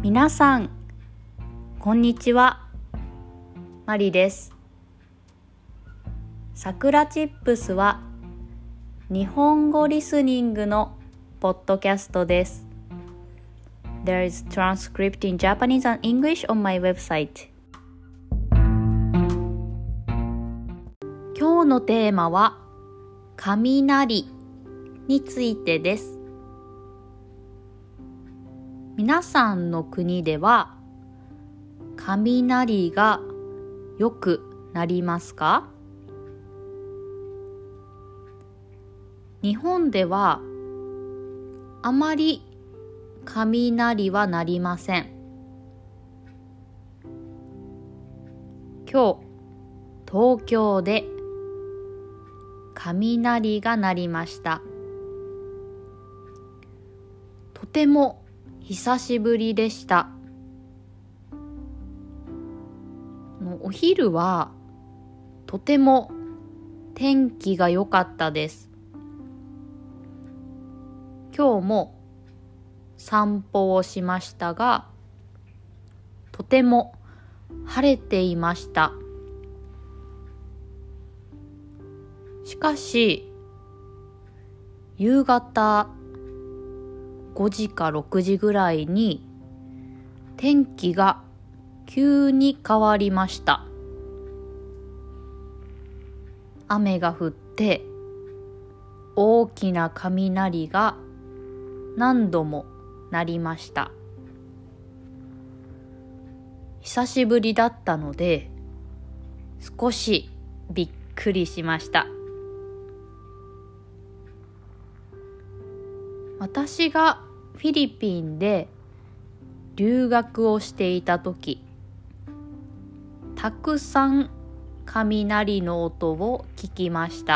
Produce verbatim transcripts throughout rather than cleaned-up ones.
皆さん、こんにちは。マリです。さくらチップスは日本語リスニングのポッドキャストです。There is transcript in Japanese and English on my website. 今日のテーマは雷についてです。皆さんの国では雷がよく鳴りますか？日本ではあまり雷は鳴りません。今日、東京で雷が鳴りました。とても久しぶりでした。お昼はとても天気が良かったです。今日も散歩をしましたが、とても晴れていました。しかし、夕方ごじかろくじぐらいに天気が急に変わりました。雨が降って大きな雷が何度も鳴りました。久しぶりだったので少しびっくりしました。私がフィリピンで留学をしていたとき、たくさん雷の音を聞きました。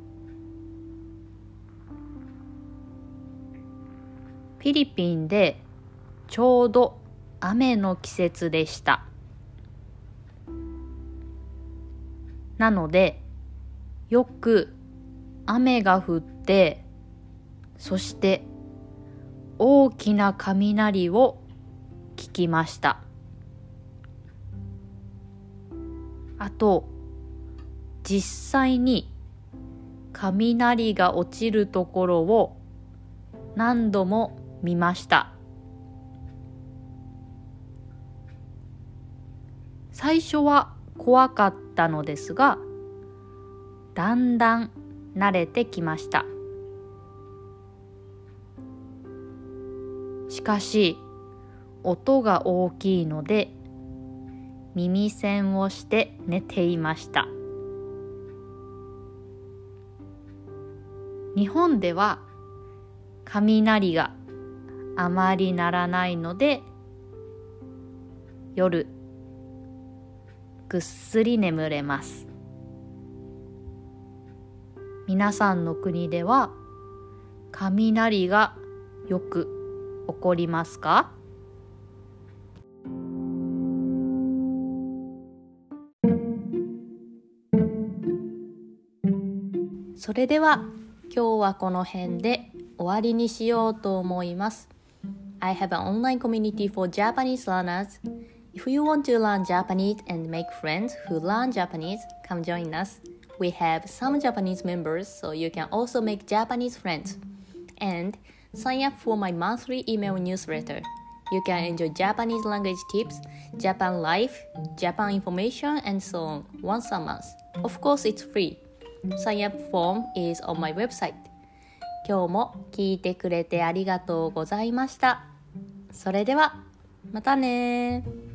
フィリピンでちょうど雨の季節でした。なので、よく雨が降って、そして大きな雷を聞きました。あと、実際に雷が落ちるところを何度も見ました。最初は怖かったのですが、だんだん慣れてきました。しかし、音が大きいので、耳栓をして寝ていました。日本では雷があまり鳴らないので、夜ぐっすり眠れます。皆さんの国では雷がよく起こりますか？それでは今日はこの辺で終わりにしようと思います。I have an online community for Japanese learners. If you want to learn Japanese and make friends who learn Japanese, come join us. We have some Japanese members, so you can also make Japanese friends. And sign up for my monthly email newsletter. You can enjoy Japanese language tips, Japan life, Japan information, and so on once a month. Of course, it's free. Sign up form is on my website. 今日も聞いてくれてありがとうございました。それではまたね。